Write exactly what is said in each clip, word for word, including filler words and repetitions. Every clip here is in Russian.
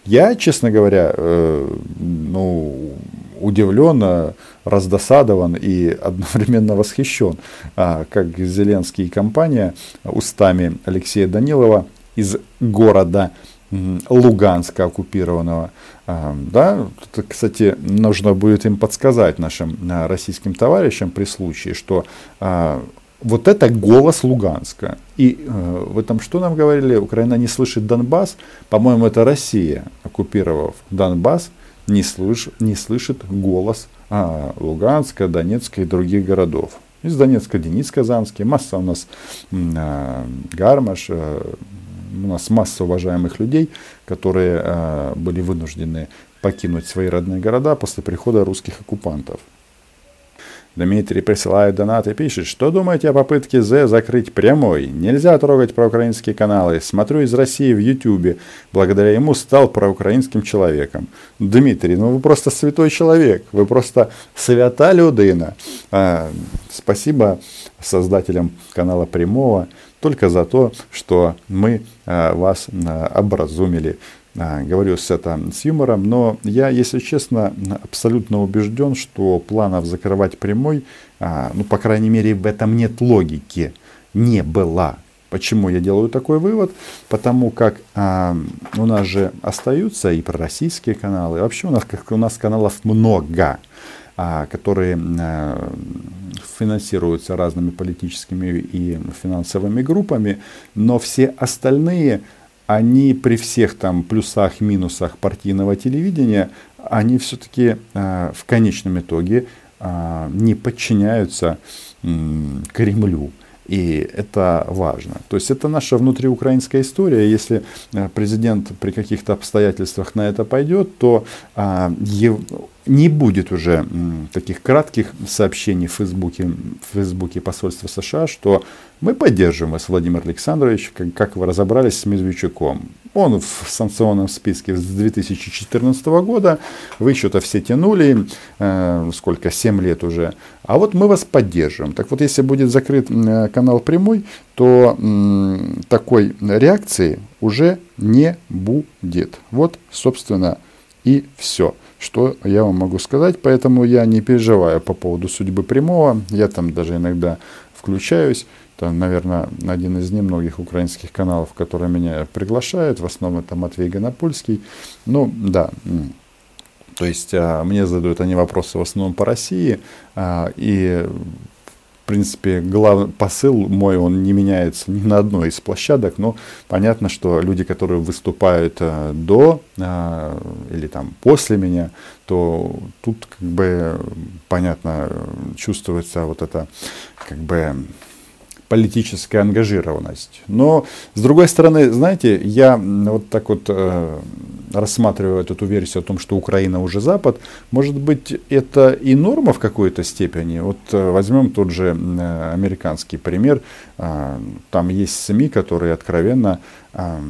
Я, честно говоря, ну, удивлен, раздосадован и одновременно восхищен, как Зеленский и компания устами Алексея Данилова из города Луганска оккупированного. Да, кстати, нужно будет им подсказать, нашим российским товарищам при случае, что вот это голос Луганска. И э, в этом что нам говорили? Украина не слышит Донбасс. По-моему, это Россия, оккупировав Донбасс, не, слыш, не слышит голос а, Луганска, Донецка и других городов. Из Донецка Денис Казанский, масса у нас э, Гармаш, э, у нас масса уважаемых людей, которые э, были вынуждены покинуть свои родные города после прихода русских оккупантов. Дмитрий присылает донат и пишет: что думаете о попытке Зе закрыть прямой? Нельзя трогать проукраинские каналы. Смотрю из России в Ютубе. Благодаря ему стал проукраинским человеком. Дмитрий, ну вы просто святой человек. Вы просто свята людина. А, спасибо создателям канала Прямого только за то, что мы а, вас а, образумили. А, говорю с это с юмором, но я, если честно, абсолютно убежден, что планов закрывать прямой, а, ну, по крайней мере, в этом нет логики, не было. Почему я делаю такой вывод? Потому как а, у нас же остаются и пророссийские каналы, вообще у нас, как у нас каналов много, а, которые а, финансируются разными политическими и финансовыми группами, но все остальные, они при всех там плюсах, минусах партийного телевидения, они все-таки э, в конечном итоге э, не подчиняются э, Кремлю. И это важно. То есть это наша внутриукраинская история. Если э, президент при каких-то обстоятельствах на это пойдет, то э, ев... не будет уже э, таких кратких сообщений в Фейсбуке, в Фейсбуке посольства США, что мы поддерживаем вас, Владимир Александрович, как, как вы разобрались с Медведчуком. Он в санкционном списке с две тысячи четырнадцатого года, вы что-то все тянули, э, сколько, семь лет уже, а вот мы вас поддерживаем. Так вот, если будет закрыт э, канал Прямой, то э, такой реакции уже не будет. Вот, собственно, и все, что я вам могу сказать. Поэтому я не переживаю по поводу судьбы Прямого, я там даже иногда включаюсь. Это, наверное, один из немногих украинских каналов, которые меня приглашают. В основном это Матвей Гонопольский. Ну, да. То есть, мне задают они вопросы в основном по России. И, в принципе, главный посыл мой, он не меняется ни на одной из площадок. Но понятно, что люди, которые выступают до или там после меня, то тут, как бы, понятно, чувствуется вот это, как бы, политическая ангажированность. Но, с другой стороны, знаете, я вот так вот э, рассматриваю эту версию о том, что Украина уже Запад. Может быть, это и норма в какой-то степени. Вот э, возьмем тот же э, американский пример. Э, там есть СМИ, которые откровенно э,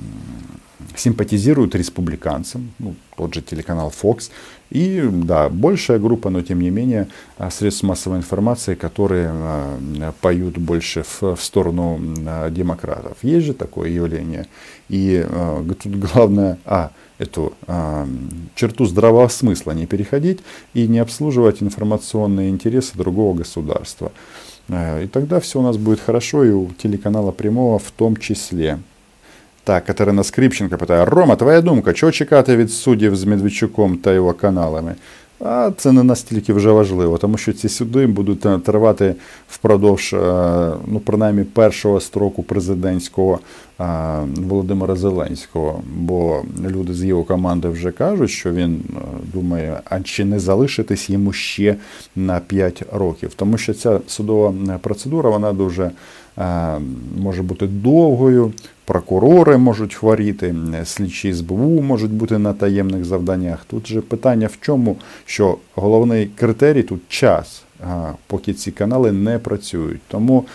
симпатизируют республиканцам. Ну, тот же телеканал Fox. И, да, большая группа, но тем не менее, средств массовой информации, которые э, поют больше в, в сторону э, демократов. Есть же такое явление. И э, тут главное, а, эту э, черту здравого смысла не переходить и не обслуживать информационные интересы другого государства. Э, и тогда все у нас будет хорошо, и у телеканала Прямого в том числе. Так, Катерина Скрипченко питає: Рома, твоя думка, чого чекати від суддів з Медведчуком та його каналами? А це не настільки вже важливо, тому що ці суди будуть тривати впродовж, ну, принаймні, першого строку президентського Володимира Зеленського. Бо люди з його команди вже кажуть, що він думає, а чи не залишитись йому ще на п'ять років. Тому що ця судова процедура, вона дуже може бути довгою, прокурори можуть хворіти, слідчі ес бе у можуть бути на таємних завданнях. Тут же питання в чому, що головний критерій тут час, поки ці канали не працюють. Тому,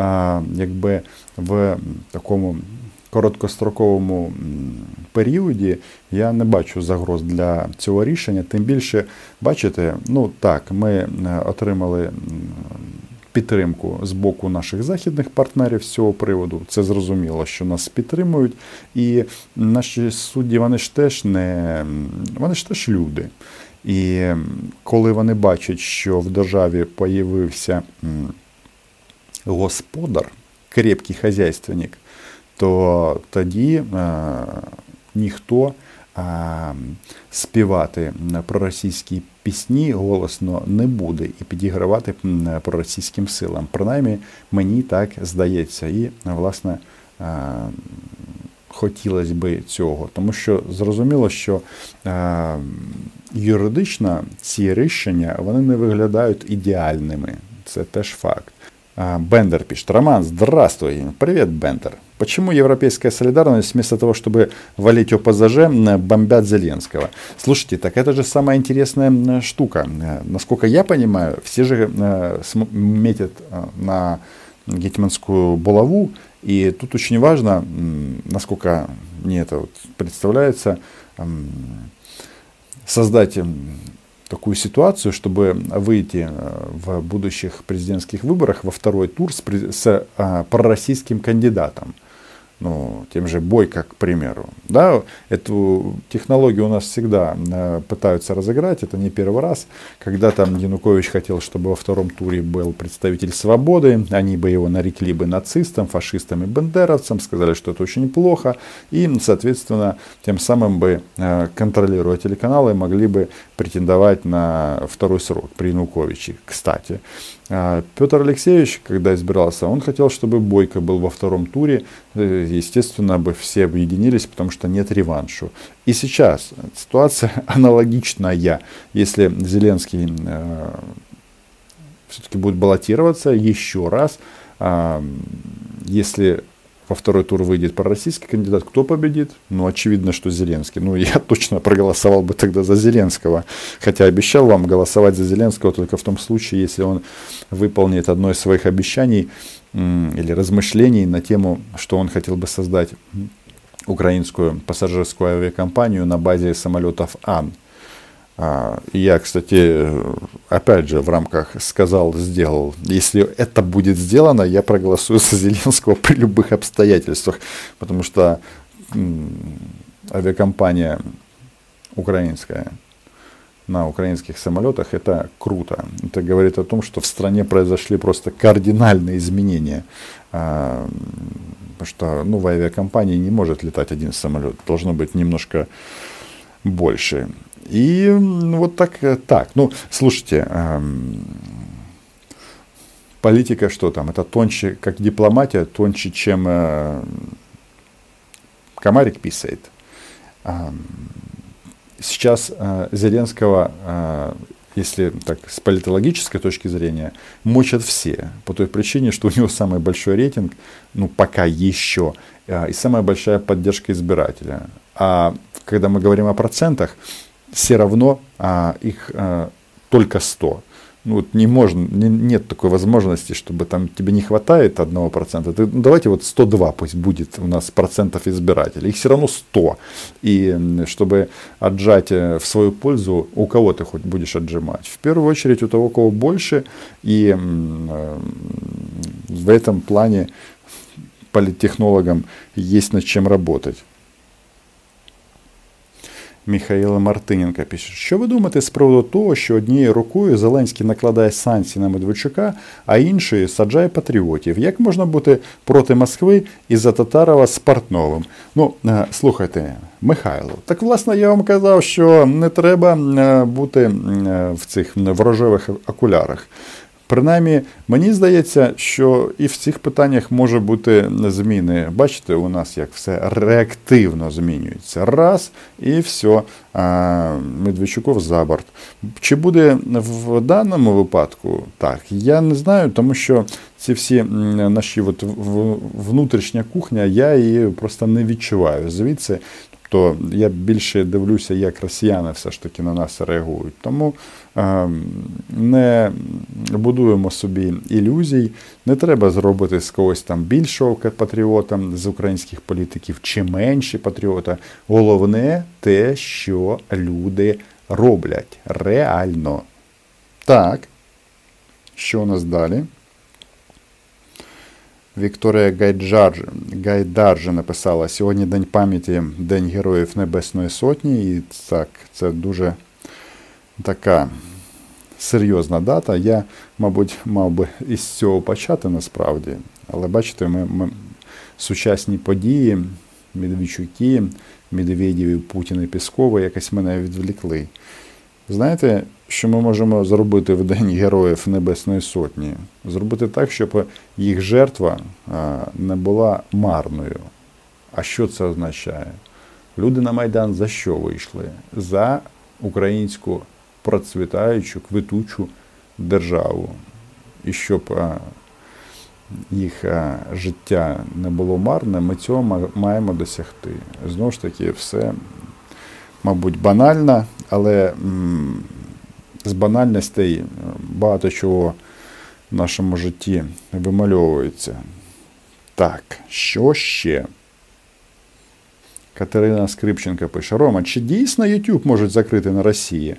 якби в такому короткостроковому періоді я не бачу загроз для цього рішення. Тим більше, бачите, ну так, ми отримали підтримку з боку наших західних партнерів з цього приводу. Це зрозуміло, що нас підтримують. І наші судді, вони ж теж не вони ж теж люди. І коли вони бачать, що в державі появився господар, крепкий хазяйственник, то тоді е, ніхто е, співати проросійські пісні голосно не буде і підігравати проросійським силам. Принаймні, мені так здається. І, власне, е, хотілося би цього. Тому що зрозуміло, що е, юридично ці рішення, вони не виглядають ідеальними. Це теж факт. Бендер пишет: Роман, здравствуй. Привет, Бендер. Почему европейская солидарность вместо того, чтобы валить ОПЗЖ, бомбят Зеленского? Слушайте, так это же самая интересная штука. Насколько я понимаю, все же метят на гетманскую булаву. И тут очень важно, насколько мне это вот представляется, создать такую ситуацию, чтобы выйти в будущих президентских выборах во второй тур с, с а, пророссийским кандидатом. Ну, тем же Бойко, к примеру. Да, эту технологию у нас всегда пытаются разыграть, это не первый раз. Когда там Янукович хотел, чтобы во втором туре был представитель Свободы, они бы его нарекли бы нацистом, фашистом и бандеровцем, сказали, что это очень плохо. И, соответственно, тем самым бы, контролируя телеканалы, могли бы претендовать на второй срок при Януковиче. Кстати, Петр Алексеевич, когда избирался, он хотел, чтобы Бойко был во втором туре. Естественно, бы все объединились, потому что нет реваншу. И сейчас ситуация аналогичная. Если Зеленский э, все-таки будет баллотироваться еще раз, э, если во второй тур выйдет пророссийский кандидат, кто победит? Ну, очевидно, что Зеленский. Ну, я точно проголосовал бы тогда за Зеленского. Хотя обещал вам голосовать за Зеленского только в том случае, если он выполнит одно из своих обещаний или размышлений на тему, что он хотел бы создать украинскую пассажирскую авиакомпанию на базе самолетов Ан. Я, кстати, опять же в рамках сказал, сделал. Если это будет сделано, я проголосую за Зеленского при любых обстоятельствах. Потому что авиакомпания украинская на украинских самолетах — это круто. Это говорит о том, что в стране произошли просто кардинальные изменения. Потому что ну, в авиакомпании не может летать один самолет. Должно быть немножко больше. И вот так, так. Ну, слушайте, эм, политика что там? Это тоньше, как дипломатия, тоньше, чем э, комарик писает. Эм, сейчас э, Зеленского, э, если так с политологической точки зрения, мочат все. По той причине, что у него самый большой рейтинг, ну, пока еще, э, и самая большая поддержка избирателя. А когда мы говорим о процентах, все равно а, их а, только сто. Ну, вот не можно, не, нет такой возможности, чтобы там тебе не хватает одного процента. Ты, ну, давайте вот сто два пусть будет у нас процентов избирателей. Их все равно сто. И чтобы отжать в свою пользу, у кого ты хоть будешь отжимать? В первую очередь у того, у кого больше. И э, в этом плане политтехнологам есть над чем работать. Михайло Мартиненко пише: що ви думаєте з приводу того, що однією рукою Зеленський накладає санкції на Медведчука, а іншою саджає патріотів? Як можна бути проти Москви і за Татарова з Портновим? Ну, слухайте, Михайло, так власне я вам казав, що не треба бути в цих в рожевих окулярах. Принаймні, мені здається, що і в цих питаннях може бути зміни. Бачите, у нас як все реактивно змінюється. Раз, і все, Медведчуков за борт. Чи буде в даному випадку так? Я не знаю, тому що ці всі наші от внутрішня кухня, я її просто не відчуваю звідси. То я більше дивлюся, як росіяни все ж таки на нас реагують. Тому е, не будуємо собі ілюзій. Не треба зробити з когось там більшого патріота з українських політиків чи менше патріота. Головне те, що люди роблять реально. Так, що у нас далі? Вікторія Гайджар, Гайдар написала: сьогодні День пам'яті, День Героїв Небесної Сотні. І так, це дуже така серйозна дата. Я, мабуть, мав би із цього почати насправді. Але бачите, ми, ми сучасні події, Медведчуки, Медведєв, Путін і Піскова якось мене відволікли. Знаєте, що ми можемо зробити в День Героїв Небесної Сотні? Зробити так, щоб їх жертва не була марною. А що це означає? Люди на Майдан за що вийшли? За українську процвітаючу, квитучу державу. І щоб їх життя не було марне, ми цього маємо досягти. Знову ж таки, все, мабуть, банально, але з банальностей багато чого в нашому житті вимальовується. Так, що ще? Катерина Скрипченко пише: Рома, чи дійсно YouTube можуть закрити на Росії?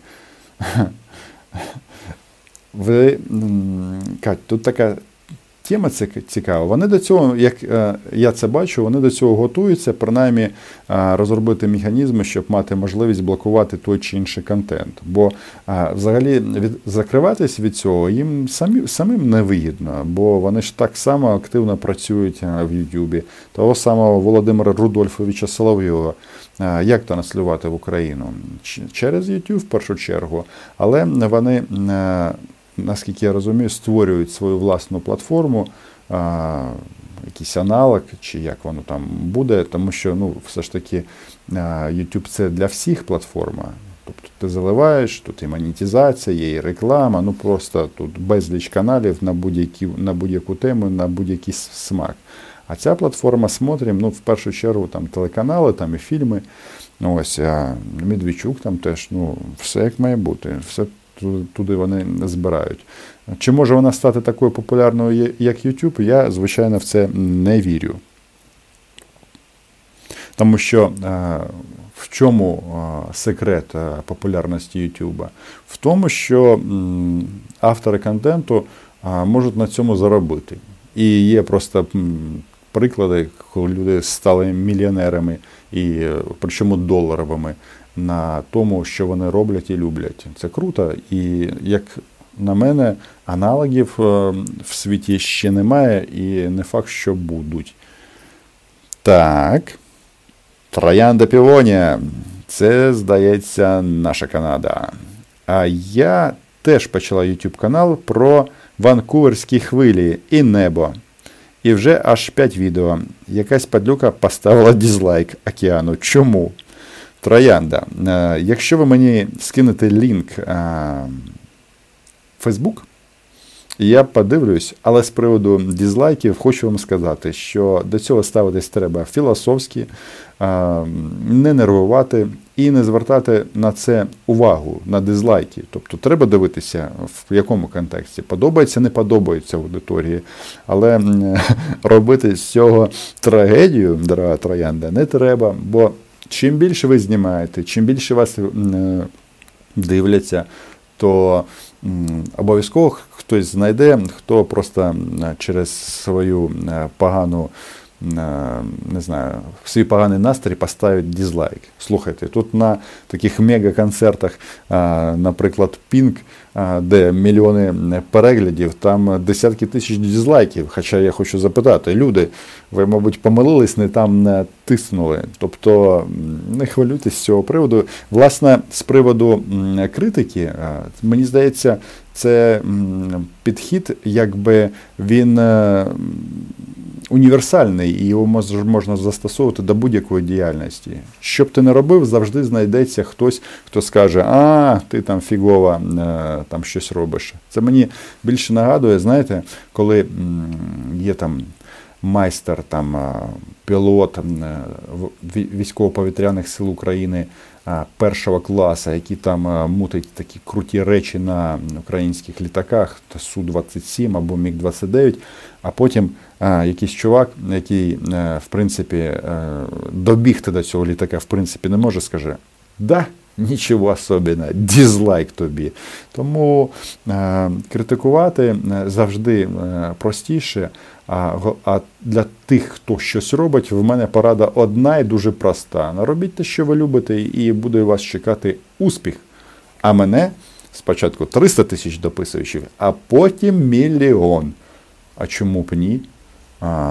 Ви, Кать, тут така тема цікава. Вони до цього, як я це бачу, вони до цього готуються, принаймні розробити механізми, щоб мати можливість блокувати той чи інший контент. Бо взагалі від, закриватись від цього їм самі, самим не вигідно, бо вони ж так само активно працюють в Ютубі. Того самого Володимира Рудольфовича Соловйова. Як транслювати в Україну? Через YouTube в першу чергу. Але вони, наскільки я розумію, створюють свою власну платформу, а, якийсь аналог, чи як воно там буде, тому що, ну, все ж таки, YouTube – це для всіх платформа. Тобто ти заливаєш, тут і монетизація, є і реклама, ну просто тут безліч каналів на будь-які, на будь-яку тему, на будь-який смак. А ця платформа «Смотрим», ну, в першу чергу, там телеканали, там і фільми. Ну, ось, а Медведчук там теж, ну, все як має бути, все туди вони збирають. Чи може вона стати такою популярною, як YouTube? Я, звичайно, в це не вірю. Тому що в чому секрет популярності YouTube? В тому, що автори контенту можуть на цьому заробити. І є просто приклади, коли люди стали мільйонерами, і причому доларовими, на тому, що вони роблять і люблять. Це круто. І, як на мене, аналогів в світі ще немає, і не факт, що будуть. Так. Троянда Півонія. Це, здається, наша Канада. А я теж почала YouTube канал про ванкуверські хвилі і небо. І вже аж п'ять відео. Якась падлюка поставила дизлайк океану. Чому? Троянда. Якщо ви мені скинете лінк в Facebook, я подивлюсь, але з приводу дизлайків хочу вам сказати, що до цього ставитись треба філософськи, не нервувати і не звертати на це увагу, на дизлайки. Тобто треба дивитися, в якому контексті. Подобається, не подобається аудиторії. Але робити з цього трагедію, дорога Троянда, не треба, бо чим більше ви знімаєте, чим більше вас дивляться, то обов'язково хтось знайде, хто просто через свою погану, не знаю, свій поганий настрій поставить дизлайк. Слухайте, тут на таких мега-концертах, наприклад, Pink, де мільйони переглядів, там десятки тисяч дизлайків. Хоча я хочу запитати, люди, ви, мабуть, помилились, не там не тиснули. Тобто не хвилюйтесь з цього приводу. Власне, з приводу критики, мені здається, це підхід, якби він універсальний, і його можна застосовувати до будь-якої діяльності. Що б ти не робив, завжди знайдеться хтось, хто скаже: а, ти там фігово там щось робиш. Це мені більше нагадує, знаєте, коли є там майстер, там, пілот військово-повітряних сил України першого класу, який там мутить такі круті речі на українських літаках, Су двадцять сім або Міг двадцять дев'ять, а потім а, якийсь чувак, який, в принципі, добігти до цього літака, в принципі, не може, скаже: да, нічого особливого, дизлайк тобі. Тому е, критикувати завжди простіше, а, а для тих, хто щось робить, в мене порада одна і дуже проста. Робіть те, що ви любите, і буде вас чекати успіх. А мене спочатку триста тисяч дописуючих, а потім мільйон. А чому б ні? А,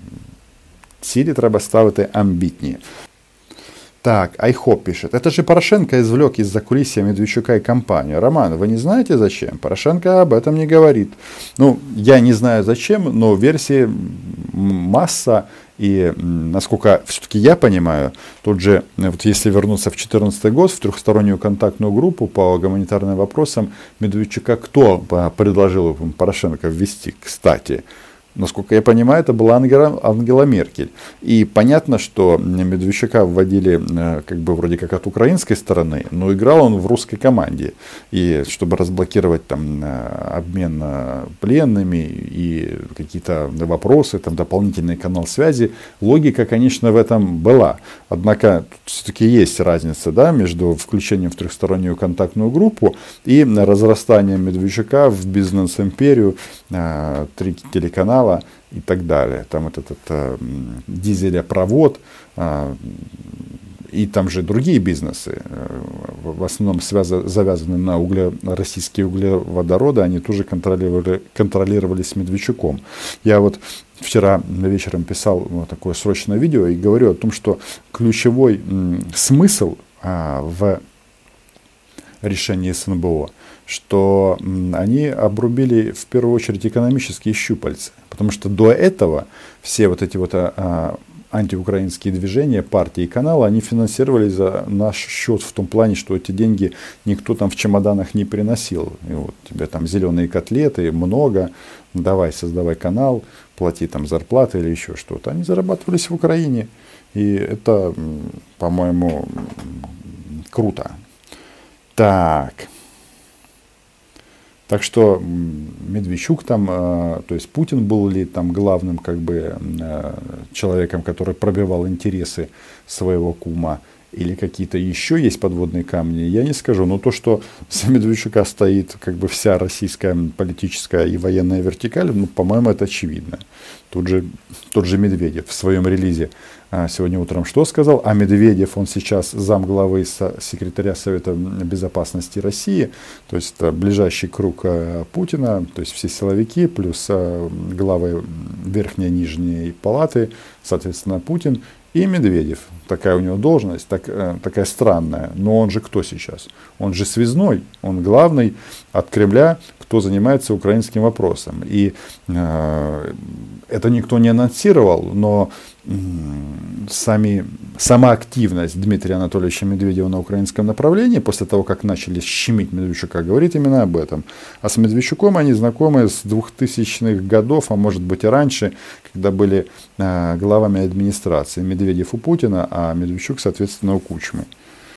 цілі треба ставити амбітні. Так, Айхоп пишет. Это же Порошенко извлек из закулисья Медведчука и компанию. Роман, вы не знаете зачем? Порошенко об этом не говорит. Ну, я не знаю зачем, но версий масса. И, насколько все-таки я понимаю, тут же, вот если вернуться в две тысячи четырнадцатый год, в трехстороннюю контактную группу по гуманитарным вопросам Медведчука, кто предложил Порошенко ввести, кстати? Насколько я понимаю, это была Ангела, Ангела Меркель. И понятно, что Медведчука вводили как бы вроде как от украинской стороны, но играл он в русской команде. И чтобы разблокировать там обмен пленными и какие-то вопросы, там дополнительный канал связи, логика, конечно, в этом была. Однако все-таки есть разница, да, между включением в трехстороннюю контактную группу и разрастанием Медведчука в бизнес-империю, три телеканала и так далее. Там этот, этот дизелепровод э, и там же другие бизнесы, э, в основном связа, завязаны на угле, российские углеводороды, они тоже контролировали, контролировались Медведчуком. Я вот вчера вечером писал вот такое срочное видео и говорю о том, что ключевой м, смысл э, в решении СНБО, что они обрубили в первую очередь экономические щупальца. Потому что до этого все вот эти вот а, антиукраинские движения, партии и каналы, они финансировались за наш счет в том плане, что эти деньги никто там в чемоданах не приносил. И вот тебе там зеленые котлеты, много, давай создавай канал, плати там зарплаты или еще что-то. Они зарабатывались в Украине. И это, по-моему, круто. Так. Так что Медведчук там, то есть Путин был ли там главным как бы человеком, который пробивал интересы своего кума, или какие-то еще есть подводные камни, я не скажу. Но то, что за Медведчука стоит как бы вся российская политическая и военная вертикаль, ну, по-моему, это очевидно. Тут же, тот же Медведев в своем релизе сегодня утром что сказал? А Медведев, он сейчас замглавы секретаря Совета Безопасности России, то есть это ближайший круг Путина, то есть все силовики, плюс главы верхней и нижней палаты, соответственно, Путин. И Медведев, такая у него должность, так, такая странная, но он же кто сейчас? Он же связной, он главный от Кремля, кто занимается украинским вопросом. И э, это никто не анонсировал, но э, сами, сама активность Дмитрия Анатольевича Медведева на украинском направлении, после того, как начали щемить Медведчука, говорит именно об этом. А с Медведчуком они знакомы с двухтысячных годов, а может быть и раньше, когда были э, главами администрации. Медведев у Путина, а Медведчук, соответственно, у Кучмы.